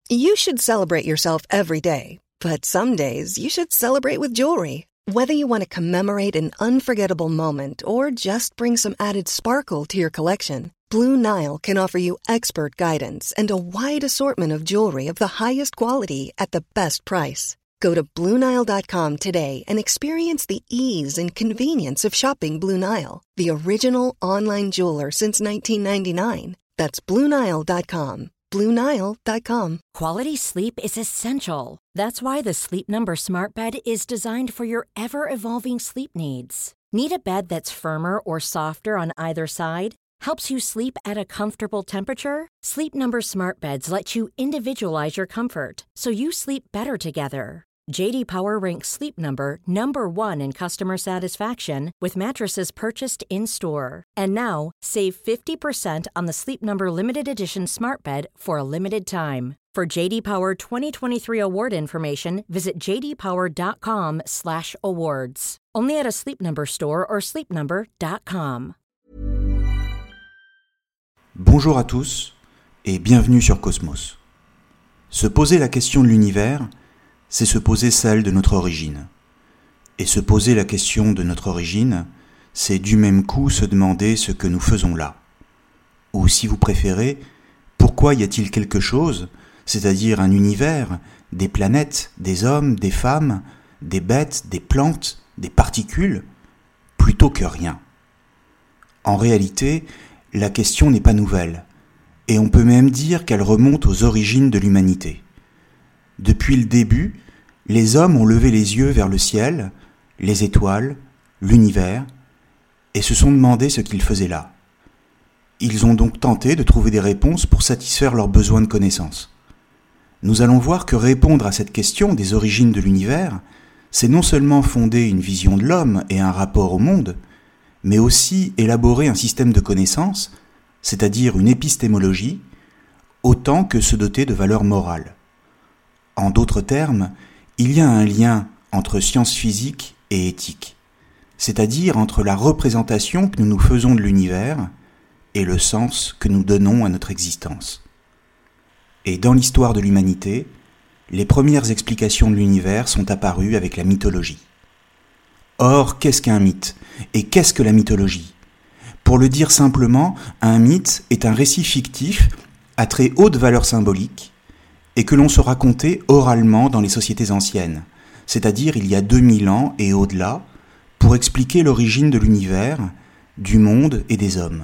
You should celebrate yourself every day, but some days you should celebrate with jewelry. Whether you want to commemorate an unforgettable moment or just bring some added sparkle to your collection, Blue Nile can offer you expert guidance and a wide assortment of jewelry of the highest quality at the best price. Go to BlueNile.com today and experience the ease and convenience of shopping Blue Nile, the original online jeweler since 1999. That's BlueNile.com. BlueNile.com. Quality sleep is essential. That's why the Sleep Number Smart Bed is designed for your ever-evolving sleep needs. Need a bed that's firmer or softer on either side? Helps you sleep at a comfortable temperature? Sleep Number Smart Beds let you individualize your comfort, so you sleep better together. J.D. Power ranks Sleep Number number 1 in customer satisfaction with mattresses purchased in-store. And now, save 50% on the Sleep Number Limited Edition Smart Bed for a limited time. For J.D. Power 2023 award information, visit jdpower.com/awards. Only at a Sleep Number store or sleepnumber.com. Bonjour à tous et bienvenue sur Cosmos. Se poser la question de l'univers, c'est se poser celle de notre origine. Et se poser la question de notre origine, c'est du même coup se demander ce que nous faisons là. Ou si vous préférez, pourquoi y a-t-il quelque chose, c'est-à-dire un univers, des planètes, des hommes, des femmes, des bêtes, des plantes, des particules, plutôt que rien. En réalité, la question n'est pas nouvelle, et on peut même dire qu'elle remonte aux origines de l'humanité. Depuis le début, les hommes ont levé les yeux vers le ciel, les étoiles, l'univers, et se sont demandé ce qu'ils faisaient là. Ils ont donc tenté de trouver des réponses pour satisfaire leurs besoins de connaissance. Nous allons voir que répondre à cette question des origines de l'univers, c'est non seulement fonder une vision de l'homme et un rapport au monde, mais aussi élaborer un système de connaissances, c'est-à-dire une épistémologie, autant que se doter de valeurs morales. En d'autres termes, il y a un lien entre sciences physiques et éthique, c'est-à-dire entre la représentation que nous nous faisons de l'univers et le sens que nous donnons à notre existence. Et dans l'histoire de l'humanité, les premières explications de l'univers sont apparues avec la mythologie. Or, qu'est-ce qu'un mythe ? Et qu'est-ce que la mythologie ? Pour le dire simplement, un mythe est un récit fictif à très haute valeur symbolique et que l'on se racontait oralement dans les sociétés anciennes, c'est-à-dire il y a 2000 ans et au-delà, pour expliquer l'origine de l'univers, du monde et des hommes.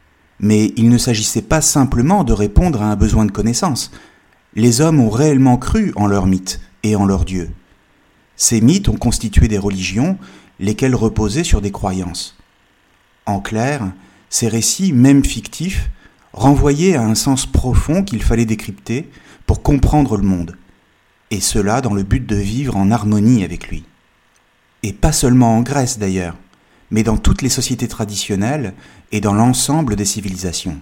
Mais il ne s'agissait pas simplement de répondre à un besoin de connaissance. Les hommes ont réellement cru en leurs mythes et en leurs dieux. Ces mythes ont constitué des religions, lesquelles reposaient sur des croyances. En clair, ces récits, même fictifs, renvoyaient à un sens profond qu'il fallait décrypter pour comprendre le monde, et cela dans le but de vivre en harmonie avec lui. Et pas seulement en Grèce d'ailleurs, mais dans toutes les sociétés traditionnelles et dans l'ensemble des civilisations.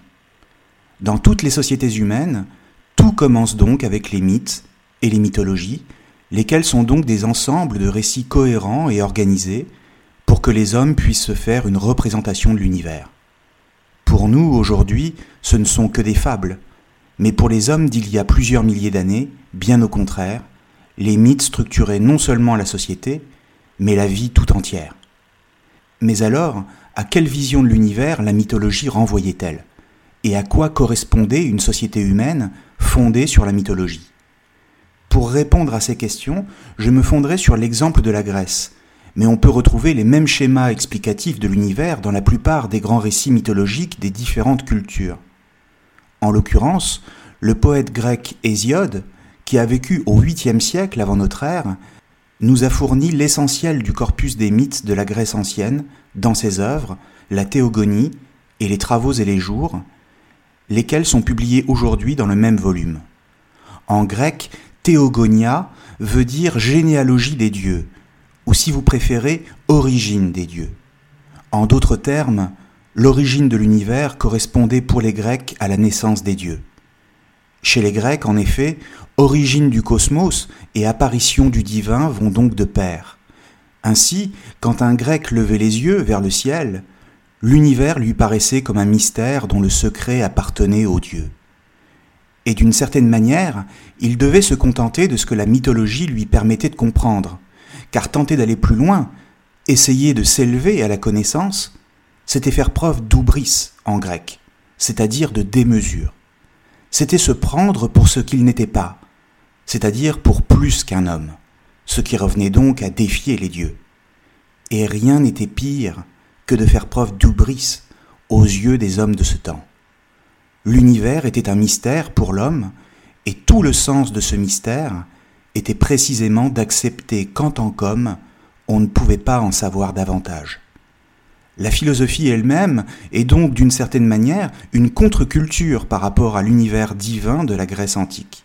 Dans toutes les sociétés humaines, tout commence donc avec les mythes et les mythologies, lesquels sont donc des ensembles de récits cohérents et organisés pour que les hommes puissent se faire une représentation de l'univers. Pour nous, aujourd'hui, ce ne sont que des fables, mais pour les hommes d'il y a plusieurs milliers d'années, bien au contraire, les mythes structuraient non seulement la société, mais la vie tout entière. Mais alors, à quelle vision de l'univers la mythologie renvoyait-elle ? Et à quoi correspondait une société humaine fondée sur la mythologie ? Pour répondre à ces questions, je me fonderai sur l'exemple de la Grèce, mais on peut retrouver les mêmes schémas explicatifs de l'univers dans la plupart des grands récits mythologiques des différentes cultures. En l'occurrence, le poète grec Hésiode, qui a vécu au 8e siècle avant notre ère, nous a fourni l'essentiel du corpus des mythes de la Grèce ancienne dans ses œuvres, la Théogonie et les Travaux et les Jours, lesquels sont publiés aujourd'hui dans le même volume. En grec, Théogonia veut dire généalogie des dieux, ou si vous préférez, origine des dieux. En d'autres termes, l'origine de l'univers correspondait pour les Grecs à la naissance des dieux. Chez les Grecs, en effet, origine du cosmos et apparition du divin vont donc de pair. Ainsi, quand un Grec levait les yeux vers le ciel, l'univers lui paraissait comme un mystère dont le secret appartenait aux dieux. et d'une certaine manière, il devait se contenter de ce que la mythologie lui permettait de comprendre, car tenter d'aller plus loin, essayer de s'élever à la connaissance, c'était faire preuve d'oubris en grec, c'est-à-dire de démesure. C'était se prendre pour ce qu'il n'était pas, c'est-à-dire pour plus qu'un homme, ce qui revenait donc à défier les dieux. Et rien n'était pire que de faire preuve d'oubris aux yeux des hommes de ce temps. L'univers était un mystère pour l'homme, et tout le sens de ce mystère était précisément d'accepter qu'en tant qu'homme, on ne pouvait pas en savoir davantage. La philosophie elle-même est donc d'une certaine manière une contre-culture par rapport à l'univers divin de la Grèce antique.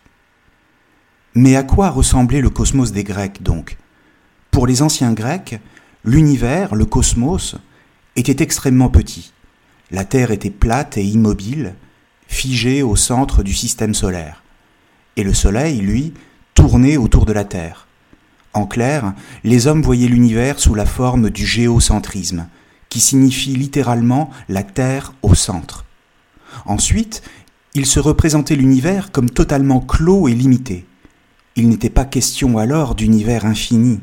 Mais à quoi ressemblait le cosmos des Grecs donc ? Pour les anciens Grecs, l'univers, le cosmos, était extrêmement petit. La Terre était plate et immobile, figée au centre du système solaire. Et le Soleil, lui, tournait autour de la Terre. En clair, les hommes voyaient l'univers sous la forme du géocentrisme, qui signifie littéralement la Terre au centre. Ensuite, ils se représentaient l'univers comme totalement clos et limité. Il n'était pas question alors d'univers infini.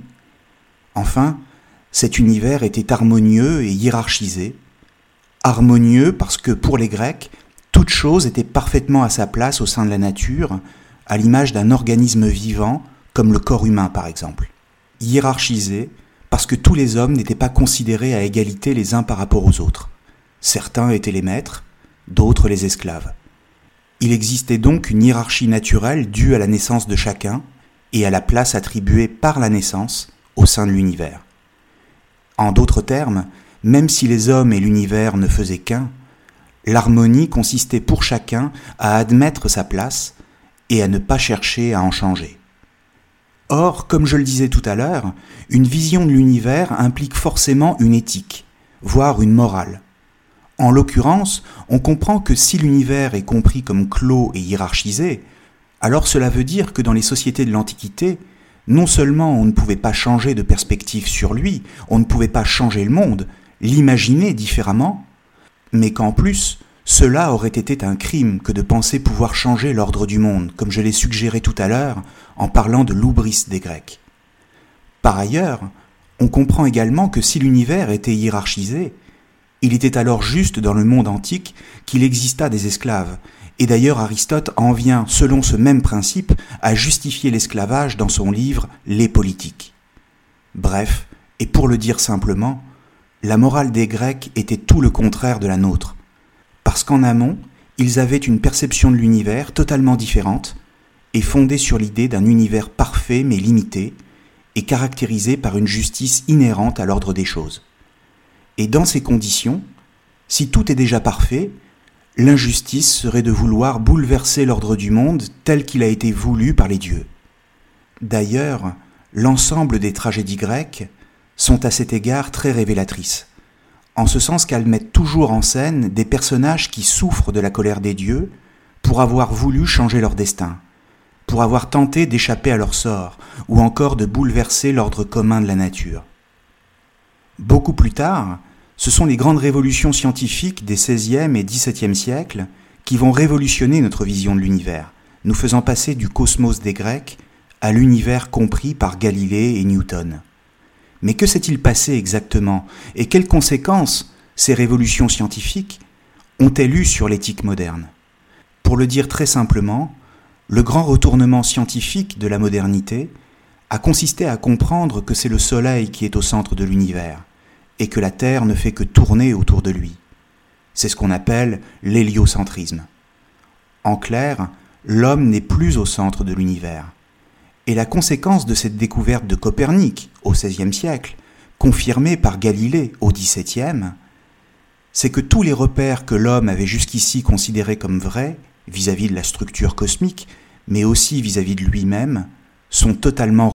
Enfin, cet univers était harmonieux et hiérarchisé. Harmonieux parce que pour les Grecs, toute chose était parfaitement à sa place au sein de la nature, à l'image d'un organisme vivant, comme le corps humain par exemple. Hiérarchisé parce que tous les hommes n'étaient pas considérés à égalité les uns par rapport aux autres. Certains étaient les maîtres, d'autres les esclaves. Il existait donc une hiérarchie naturelle due à la naissance de chacun et à la place attribuée par la naissance au sein de l'univers. En d'autres termes, même si les hommes et l'univers ne faisaient qu'un, l'harmonie consistait pour chacun à admettre sa place et à ne pas chercher à en changer. Or, comme je le disais tout à l'heure, une vision de l'univers implique forcément une éthique, voire une morale. En l'occurrence, on comprend que si l'univers est compris comme clos et hiérarchisé, alors cela veut dire que dans les sociétés de l'Antiquité, non seulement on ne pouvait pas changer de perspective sur lui, on ne pouvait pas changer le monde, l'imaginer différemment, mais qu'en plus, cela aurait été un crime que de penser pouvoir changer l'ordre du monde, comme je l'ai suggéré tout à l'heure en parlant de l'oubris des Grecs. Par ailleurs, on comprend également que si l'univers était hiérarchisé, il était alors juste dans le monde antique qu'il exista des esclaves, et d'ailleurs Aristote en vient, selon ce même principe, à justifier l'esclavage dans son livre « Les politiques ». Bref, et pour le dire simplement, la morale des Grecs était tout le contraire de la nôtre, parce qu'en amont, ils avaient une perception de l'univers totalement différente et fondée sur l'idée d'un univers parfait mais limité et caractérisé par une justice inhérente à l'ordre des choses. Et dans ces conditions, si tout est déjà parfait, l'injustice serait de vouloir bouleverser l'ordre du monde tel qu'il a été voulu par les dieux. D'ailleurs, l'ensemble des tragédies grecques sont à cet égard très révélatrices, en ce sens qu'elles mettent toujours en scène des personnages qui souffrent de la colère des dieux pour avoir voulu changer leur destin, pour avoir tenté d'échapper à leur sort, ou encore de bouleverser l'ordre commun de la nature. Beaucoup plus tard, ce sont les grandes révolutions scientifiques des XVIe et XVIIe siècles qui vont révolutionner notre vision de l'univers, nous faisant passer du cosmos des Grecs à l'univers compris par Galilée et Newton. Mais que s'est-il passé exactement, et quelles conséquences ces révolutions scientifiques ont-elles eues sur l'éthique moderne ? Pour le dire très simplement, le grand retournement scientifique de la modernité a consisté à comprendre que c'est le Soleil qui est au centre de l'univers, et que la Terre ne fait que tourner autour de lui. C'est ce qu'on appelle l'héliocentrisme. En clair, l'homme n'est plus au centre de l'univers. Et la conséquence de cette découverte de Copernic au XVIe siècle, confirmée par Galilée au XVIIe, c'est que tous les repères que l'homme avait jusqu'ici considérés comme vrais, vis-à-vis de la structure cosmique, mais aussi vis-à-vis de lui-même, sont totalement.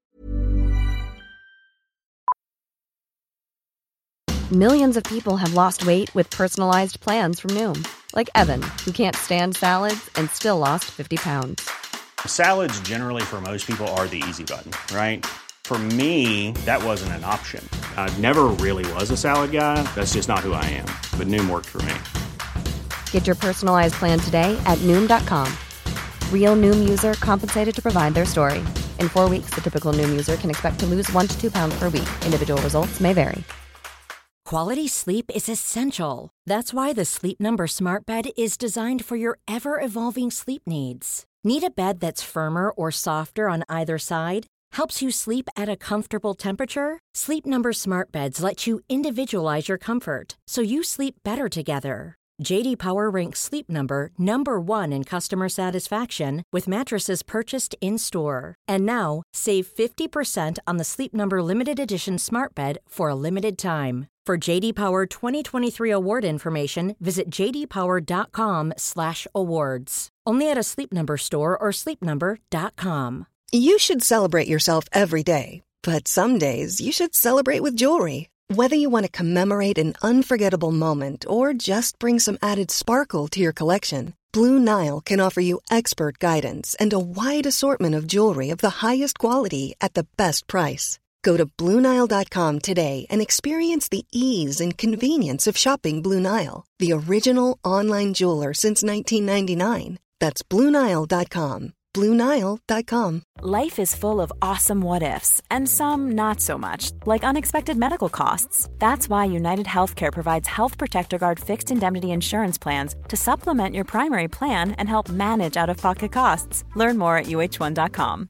Millions of people have lost weight with personalized plans from Noom, like Evan, who can't stand salads and still lost 50 pounds. Salads generally for most people are the easy button, right? For me, that wasn't an option. I never really was a salad guy. That's just not who I am. But Noom worked for me. Get your personalized plan today at Noom.com. Real Noom user compensated to provide their story. In 4 weeks, the typical Noom user can expect to lose 1 to 2 pounds per week. Individual results may vary. Quality sleep is essential. That's why the Sleep Number Smart Bed is designed for your ever-evolving sleep needs. Need a bed that's firmer or softer on either side? Helps you sleep at a comfortable temperature? Sleep Number Smart Beds let you individualize your comfort, so you sleep better together. J.D. Power ranks Sleep Number number 1 in customer satisfaction with mattresses purchased in-store. And now, save 50% on the Sleep Number Limited Edition Smart Bed for a limited time. For J.D. Power 2023 award information, visit jdpower.com/awards. Only at a Sleep Number store or sleepnumber.com. You should celebrate yourself every day, but some days you should celebrate with jewelry. Whether you want to commemorate an unforgettable moment or just bring some added sparkle to your collection, Blue Nile can offer you expert guidance and a wide assortment of jewelry of the highest quality at the best price. Go to BlueNile.com today and experience the ease and convenience of shopping Blue Nile, the original online jeweler since 1999. That's BlueNile.com. BlueNile.com. Life is full of awesome what-ifs, and some not so much, like unexpected medical costs. That's why United Healthcare provides Health Protector Guard fixed indemnity insurance plans to supplement your primary plan and help manage out-of-pocket costs. Learn more at uh1.com.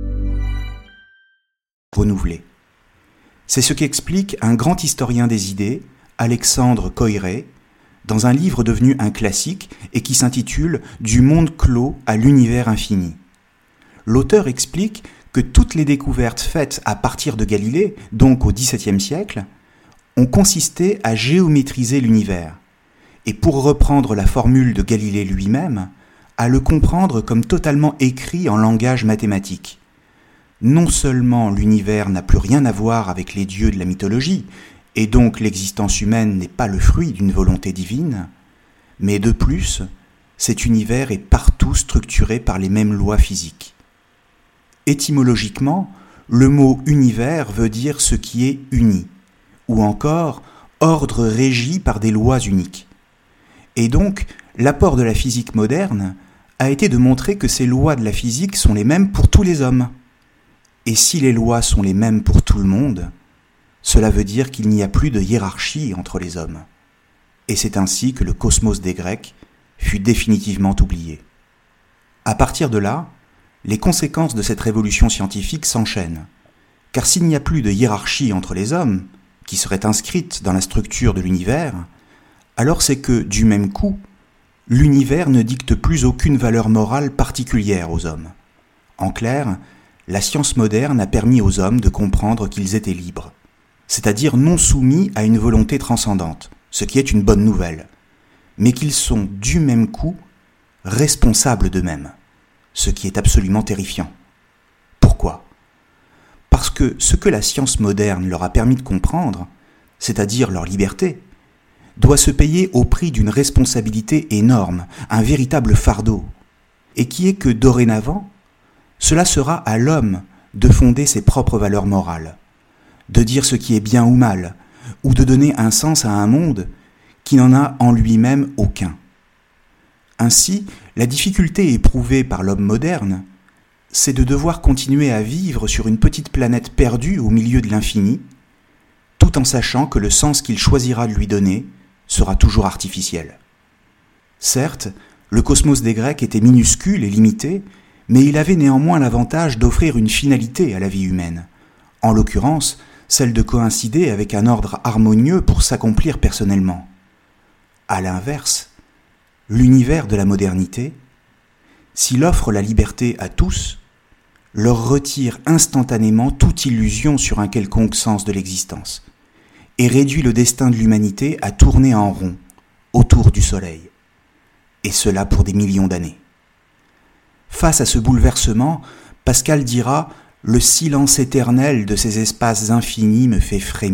Renouvelé. C'est ce qu'explique un grand historien des idées, Alexandre Koyré, dans un livre devenu un classique et qui s'intitule « Du monde clos à l'univers infini ». L'auteur explique que toutes les découvertes faites à partir de Galilée, donc au XVIIe siècle, ont consisté à géométriser l'univers, et pour reprendre la formule de Galilée lui-même, à le comprendre comme totalement écrit en langage mathématique. Non seulement l'univers n'a plus rien à voir avec les dieux de la mythologie, et donc l'existence humaine n'est pas le fruit d'une volonté divine, mais de plus, cet univers est partout structuré par les mêmes lois physiques. Étymologiquement, le mot « univers » veut dire ce qui est uni, ou encore « ordre régi par des lois uniques ». Et donc, l'apport de la physique moderne a été de montrer que ces lois de la physique sont les mêmes pour tous les hommes. Et si les lois sont les mêmes pour tout le monde, cela veut dire qu'il n'y a plus de hiérarchie entre les hommes. Et c'est ainsi que le cosmos des Grecs fut définitivement oublié. À partir de là, les conséquences de cette révolution scientifique s'enchaînent. Car s'il n'y a plus de hiérarchie entre les hommes, qui serait inscrite dans la structure de l'univers, alors c'est que, du même coup, l'univers ne dicte plus aucune valeur morale particulière aux hommes. En clair, la science moderne a permis aux hommes de comprendre qu'ils étaient libres, c'est-à-dire non soumis à une volonté transcendante, ce qui est une bonne nouvelle, mais qu'ils sont du même coup responsables d'eux-mêmes, ce qui est absolument terrifiant. Pourquoi ? Parce que ce que la science moderne leur a permis de comprendre, c'est-à-dire leur liberté, doit se payer au prix d'une responsabilité énorme, un véritable fardeau, et qui est que dorénavant, cela sera à l'homme de fonder ses propres valeurs morales, de dire ce qui est bien ou mal, ou de donner un sens à un monde qui n'en a en lui-même aucun. Ainsi, la difficulté éprouvée par l'homme moderne, c'est de devoir continuer à vivre sur une petite planète perdue au milieu de l'infini, tout en sachant que le sens qu'il choisira de lui donner sera toujours artificiel. Certes, le cosmos des Grecs était minuscule et limité, mais il avait néanmoins l'avantage d'offrir une finalité à la vie humaine, en l'occurrence celle de coïncider avec un ordre harmonieux pour s'accomplir personnellement. À l'inverse, l'univers de la modernité, s'il offre la liberté à tous, leur retire instantanément toute illusion sur un quelconque sens de l'existence, et réduit le destin de l'humanité à tourner en rond, autour du soleil, et cela pour des millions d'années. Face à ce bouleversement, Pascal dira « Le silence éternel de ces espaces infinis me fait frémir ».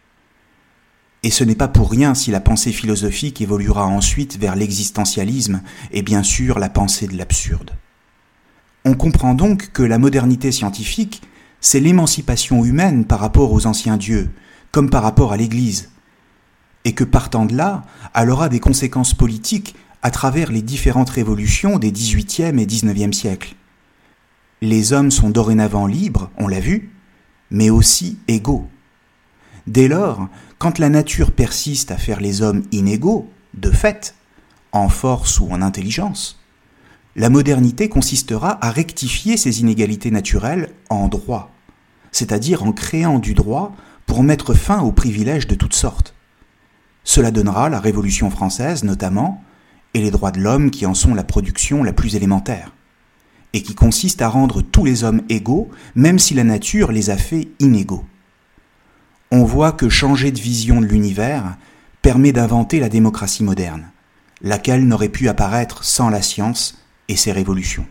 Et ce n'est pas pour rien si la pensée philosophique évoluera ensuite vers l'existentialisme et bien sûr la pensée de l'absurde. On comprend donc que la modernité scientifique, c'est l'émancipation humaine par rapport aux anciens dieux, comme par rapport à l'Église, et que partant de là, elle aura des conséquences politiques à travers les différentes révolutions des XVIIIe et XIXe siècles. Les hommes sont dorénavant libres, on l'a vu, mais aussi égaux. Dès lors, quand la nature persiste à faire les hommes inégaux, de fait, en force ou en intelligence, la modernité consistera à rectifier ces inégalités naturelles en droit, c'est-à-dire en créant du droit pour mettre fin aux privilèges de toutes sortes. Cela donnera la Révolution française notamment, et les droits de l'homme qui en sont la production la plus élémentaire, et qui consiste à rendre tous les hommes égaux, même si la nature les a fait inégaux. On voit que changer de vision de l'univers permet d'inventer la démocratie moderne, laquelle n'aurait pu apparaître sans la science et ses révolutions.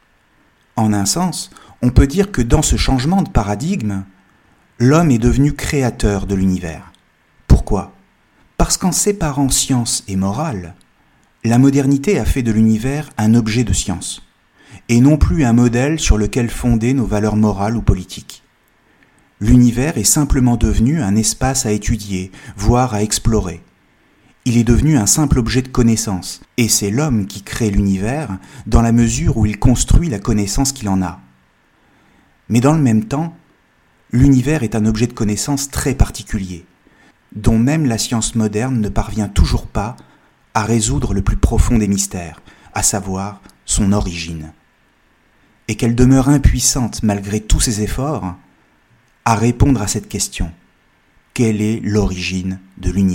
En un sens, on peut dire que dans ce changement de paradigme, l'homme est devenu créateur de l'univers. Pourquoi ? Parce qu'en séparant science et morale, la modernité a fait de l'univers un objet de science, et non plus un modèle sur lequel fonder nos valeurs morales ou politiques. L'univers est simplement devenu un espace à étudier, voire à explorer. Il est devenu un simple objet de connaissance, et c'est l'homme qui crée l'univers dans la mesure où il construit la connaissance qu'il en a. Mais dans le même temps, l'univers est un objet de connaissance très particulier, dont même la science moderne ne parvient toujours pas à résoudre le plus profond des mystères, à savoir son origine. Et qu'elle demeure impuissante malgré tous ses efforts à répondre à cette question. Quelle est l'origine de l'univers ?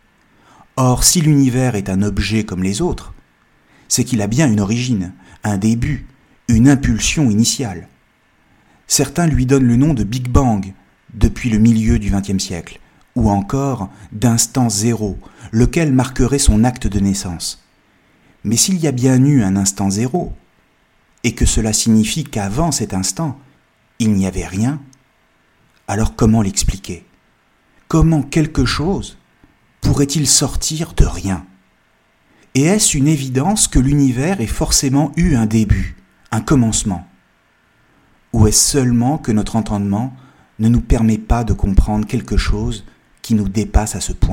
Or, si l'univers est un objet comme les autres, c'est qu'il a bien une origine, un début, une impulsion initiale. Certains lui donnent le nom de Big Bang depuis le milieu du XXe siècle, ou encore d'instant zéro, lequel marquerait son acte de naissance. Mais s'il y a bien eu un instant zéro, et que cela signifie qu'avant cet instant, il n'y avait rien, alors comment l'expliquer ? Comment quelque chose pourrait-il sortir de rien ? Et est-ce une évidence que l'univers ait forcément eu un début, un commencement ? Ou est-ce seulement que notre entendement ne nous permet pas de comprendre quelque chose qui nous dépasse à ce point ?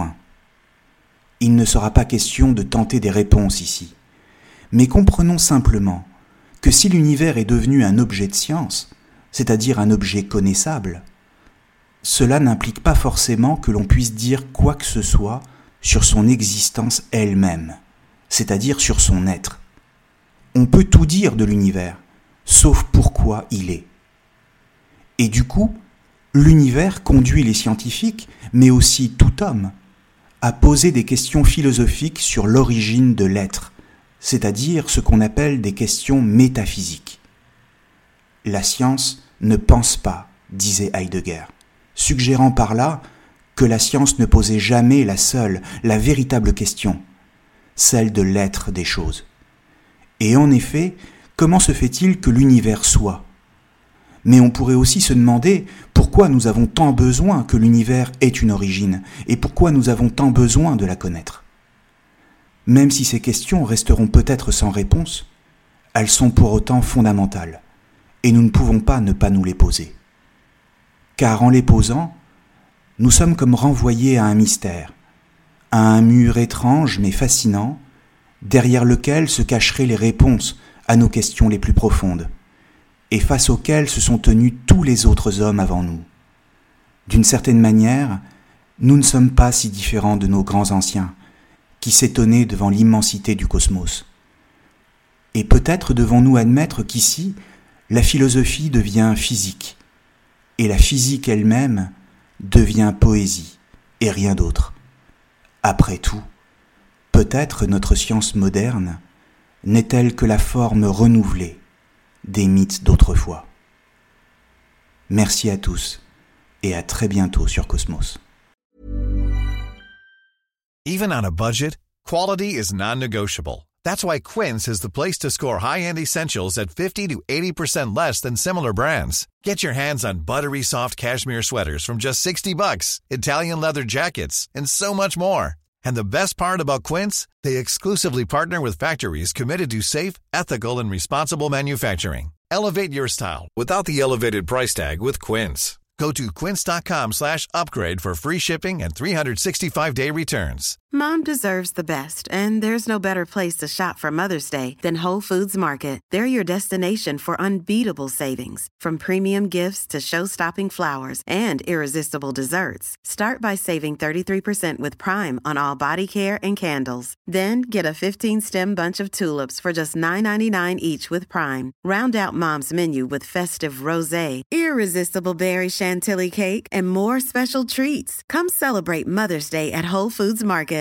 Il ne sera pas question de tenter des réponses ici, mais comprenons simplement que si l'univers est devenu un objet de science, c'est-à-dire un objet connaissable, cela n'implique pas forcément que l'on puisse dire quoi que ce soit sur son existence elle-même, c'est-à-dire sur son être. On peut tout dire de l'univers, sauf pourquoi il est. Et du coup, l'univers conduit les scientifiques, mais aussi tout homme, à poser des questions philosophiques sur l'origine de l'être, c'est-à-dire ce qu'on appelle des questions métaphysiques. La science ne pense pas, disait Heidegger, suggérant par là que la science ne posait jamais la seule, la véritable question, celle de l'être des choses. Et en effet, comment se fait-il que l'univers soit ? Mais on pourrait aussi se demander pourquoi nous avons tant besoin que l'univers ait une origine, et pourquoi nous avons tant besoin de la connaître. Même si ces questions resteront peut-être sans réponse, elles sont pour autant fondamentales, et nous ne pouvons pas ne pas nous les poser. Car en les posant, nous sommes comme renvoyés à un mystère, à un mur étrange mais fascinant, derrière lequel se cacheraient les réponses à nos questions les plus profondes, et face auquel se sont tenus tous les autres hommes avant nous. D'une certaine manière, nous ne sommes pas si différents de nos grands anciens, qui s'étonnaient devant l'immensité du cosmos. Et peut-être devons-nous admettre qu'ici, la philosophie devient physique, et la physique elle-même devient poésie, et rien d'autre. Après tout, peut-être notre science moderne n'est-elle que la forme renouvelée des mythes d'autrefois. Merci à tous, et à très bientôt sur Cosmos. Even on a budget, quality is non-negotiable. That's why Quince is the place to score high-end essentials at 50 to 80% less than similar brands. Get your hands on buttery soft cashmere sweaters from just $60, Italian leather jackets, and so much more. And the best part about Quince, they exclusively partner with factories committed to safe, ethical, and responsible manufacturing. Elevate your style without the elevated price tag with Quince. Go to quince.com/upgrade for free shipping and 365-day returns. Mom deserves the best, and there's no better place to shop for Mother's Day than Whole Foods Market. They're your destination for unbeatable savings, from premium gifts to show-stopping flowers and irresistible desserts. Start by saving 33% with Prime on all body care and candles. Then get a 15-stem bunch of tulips for just $9.99 each with Prime. Round out Mom's menu with festive rosé, irresistible berry chantilly cake, and more special treats. Come celebrate Mother's Day at Whole Foods Market.